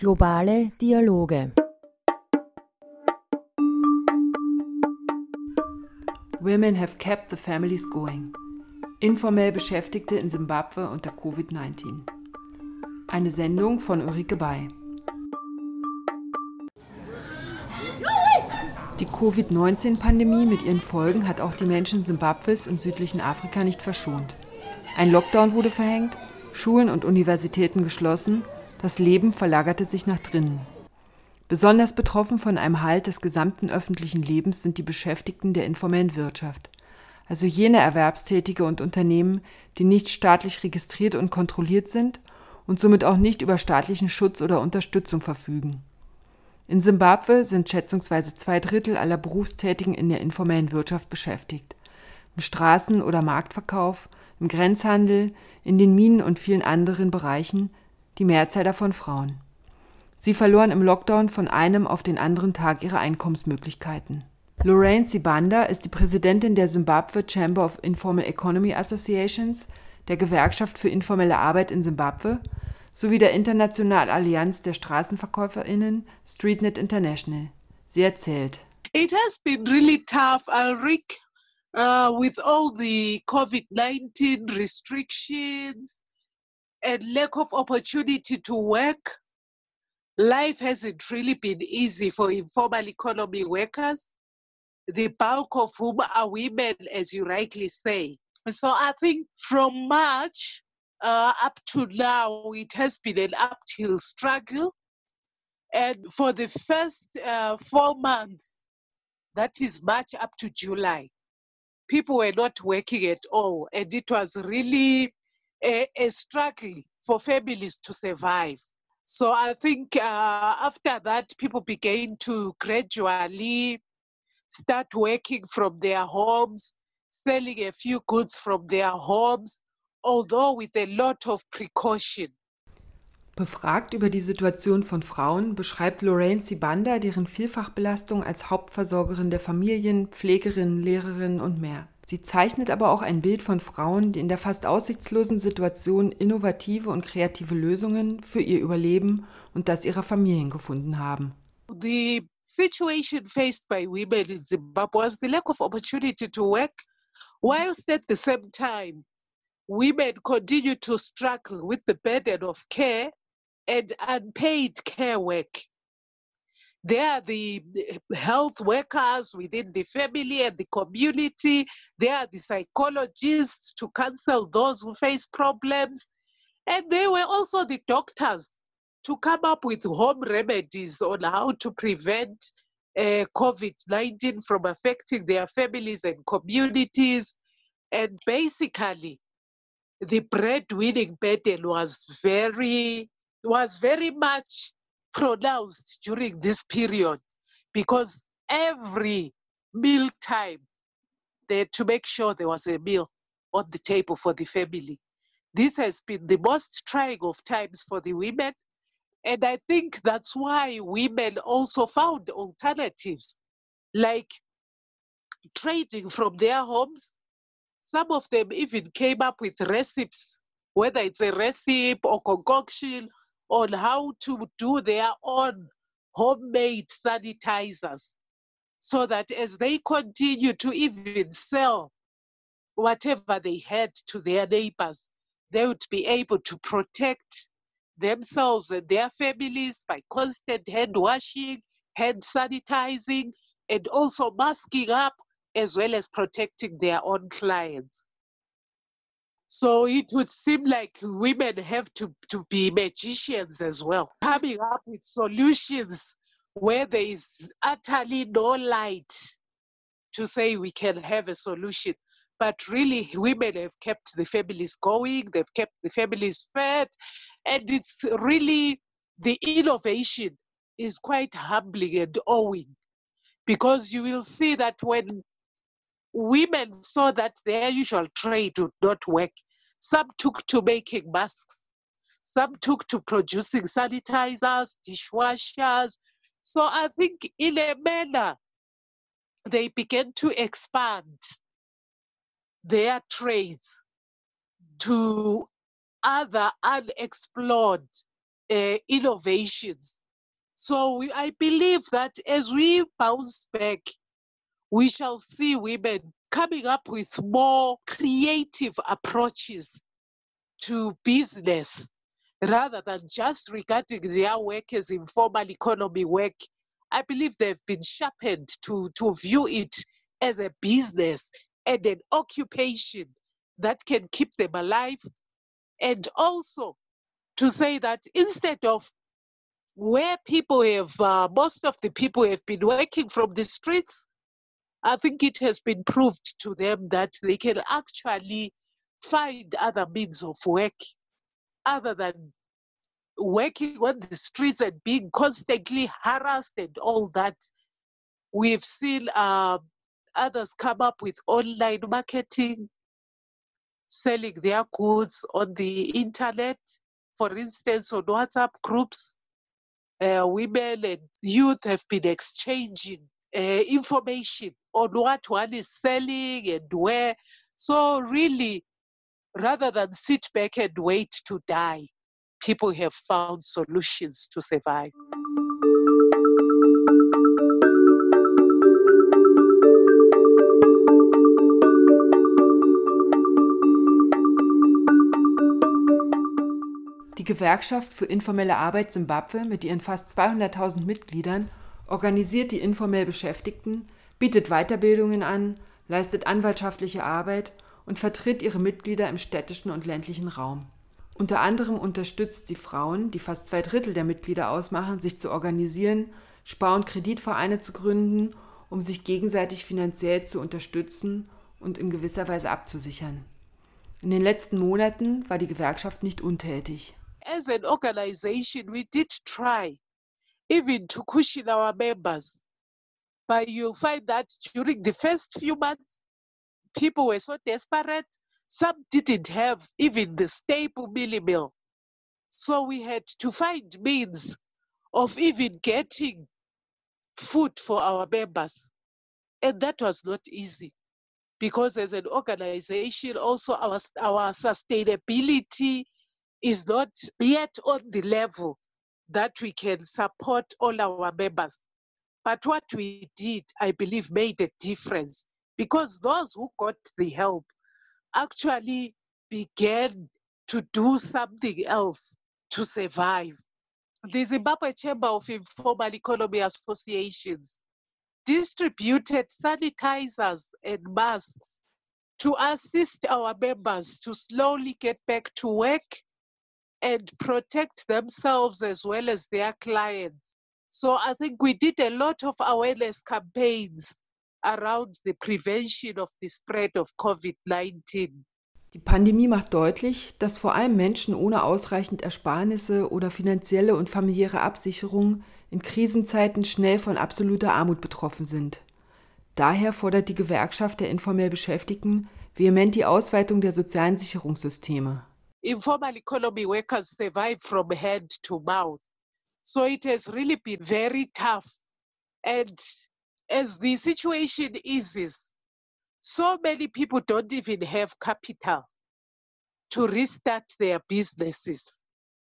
Globale Dialoge. Women have kept the families going. Informell Beschäftigte in Simbabwe unter Covid-19. Eine Sendung von Ulrike Bay. Die Covid-19-Pandemie mit ihren Folgen hat auch die Menschen Simbabwes im südlichen Afrika nicht verschont. Ein Lockdown wurde verhängt, Schulen und Universitäten geschlossen, das Leben verlagerte sich nach drinnen. Besonders betroffen von einem Halt des gesamten öffentlichen Lebens sind die Beschäftigten der informellen Wirtschaft, also jene Erwerbstätige und Unternehmen, die nicht staatlich registriert und kontrolliert sind und somit auch nicht über staatlichen Schutz oder Unterstützung verfügen. In Simbabwe sind schätzungsweise 2/3 aller Berufstätigen in der informellen Wirtschaft beschäftigt. Im Straßen- oder Marktverkauf, im Grenzhandel, in den Minen und vielen anderen Bereichen, die Mehrzahl davon Frauen. Sie verloren im Lockdown von einem auf den anderen Tag ihre Einkommensmöglichkeiten. Lorraine Sibanda ist die Präsidentin der Zimbabwe Chamber of Informal Economy Associations, der Gewerkschaft für informelle Arbeit in Simbabwe, sowie der Internationalen Allianz der StraßenverkäuferInnen Streetnet International. Sie erzählt: It has been really tough, Ulrike, with all the COVID-19 restrictions and lack of opportunity to work. Life hasn't really been easy for informal economy workers, the bulk of whom are women, as you rightly say. So I think from March up to now, it has been an uphill struggle. And for the first 4 months, that is March up to July, people were not working at all. And it was really a struggle for families to survive. So I think after that, people began to gradually start working from their homes, selling a few goods from their homes, although with a lot of precaution. Befragt über die Situation von Frauen beschreibt Lorraine Sibanda deren Vielfachbelastung als Hauptversorgerin der Familien, Pflegerin, Lehrerin und mehr. Sie zeichnet aber auch ein Bild von Frauen, die in der fast aussichtslosen Situation innovative und kreative Lösungen für ihr Überleben und das ihrer Familien gefunden haben. The situation faced by women in Zimbabwe was the lack of opportunity to work, whilst at the same time, women continue to struggle with the burden of care and unpaid care work. They are the health workers within the family and the community. They are the psychologists to counsel those who face problems. And they were also the doctors to come up with home remedies on how to prevent COVID-19 from affecting their families and communities. And basically, the breadwinning burden was very much pronounced during this period, because every meal time they had to make sure there was a meal on the table for the family. This has been the most trying of times for the women, and I think that's why women also found alternatives, like trading from their homes. Some of them even came up with recipes, whether it's a recipe or concoction, on how to do their own homemade sanitizers, so that as they continue to even sell whatever they had to their neighbors, they would be able to protect themselves and their families by constant hand washing, hand sanitizing, and also masking up, as well as protecting their own clients. So it would seem like women have to be magicians as well, coming up with solutions where there is utterly no light to say we can have a solution. But really, women have kept the families going, they've kept the families fed, and it's really, the innovation is quite humbling and awing, because you will see that when women saw that their usual trade would not work, some took to making masks, some took to producing sanitizers, dishwashers. So I think in a manner, they began to expand their trades to other unexplored innovations. So I believe that as we bounce back, we shall see women coming up with more creative approaches to business rather than just regarding their work as informal economy work. I believe they've been sharpened to view it as a business and an occupation that can keep them alive. And also to say that instead of where people have, most of the people have been working from the streets, I think it has been proved to them that they can actually find other means of work other than working on the streets and being constantly harassed and all that. We've seen others come up with online marketing, selling their goods on the internet, for instance, on WhatsApp groups. Women and youth have been exchanging information on what one is selling and where. So really, rather than sit back and wait to die, people have found solutions to survive. Die Gewerkschaft für informelle Arbeit Simbabwe mit ihren fast 200.000 Mitgliedern organisiert die informell Beschäftigten, bietet Weiterbildungen an, leistet anwaltschaftliche Arbeit und vertritt ihre Mitglieder im städtischen und ländlichen Raum. Unter anderem unterstützt sie Frauen, die fast 2/3 der Mitglieder ausmachen, sich zu organisieren, Spar- und Kreditvereine zu gründen, um sich gegenseitig finanziell zu unterstützen und in gewisser Weise abzusichern. In den letzten Monaten war die Gewerkschaft nicht untätig. As an organization, we did try even to cushion our members. But you'll find that during the first few months, people were so desperate. Some didn't have even the staple mealie meal. So we had to find means of even getting food for our members. And that was not easy because as an organization, also our sustainability is not yet on the level that we can support all our members. But what we did, I believe, made a difference because those who got the help actually began to do something else to survive. The Zimbabwe Chamber of Informal Economy Associations distributed sanitizers and masks to assist our members to slowly get back to work and protect themselves as well as their clients. So I think we did a lot of awareness campaigns around the prevention of the spread of COVID-19. Die Pandemie macht deutlich, dass vor allem Menschen ohne ausreichend Ersparnisse oder finanzielle und familiäre Absicherung in Krisenzeiten schnell von absoluter Armut betroffen sind. Daher fordert die Gewerkschaft der informell Beschäftigten vehement die Ausweitung der sozialen Sicherungssysteme. Informal economy workers survive from hand to mouth. So it has really been very tough. And as the situation eases, so many people don't even have capital to restart their businesses.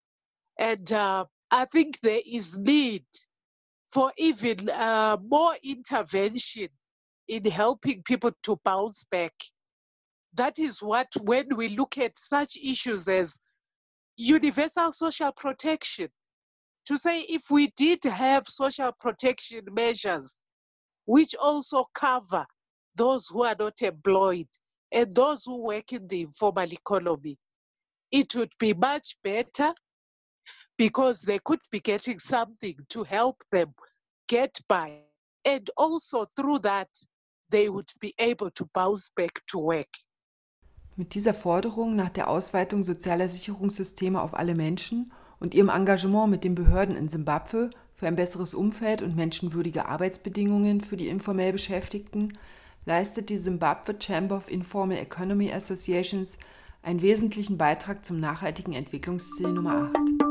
And I think there is need for even more intervention in helping people to bounce back. That is what, when we look at such issues as universal social protection, to say if we did have social protection measures, which also cover those who are not employed and those who work in the informal economy, it would be much better because they could be getting something to help them get by. And also through that, they would be able to bounce back to work. Mit dieser Forderung nach der Ausweitung sozialer Sicherungssysteme auf alle Menschen und ihrem Engagement mit den Behörden in Simbabwe für ein besseres Umfeld und menschenwürdige Arbeitsbedingungen für die informell Beschäftigten leistet die Zimbabwe Chamber of Informal Economy Associations einen wesentlichen Beitrag zum nachhaltigen Entwicklungsziel Nummer 8.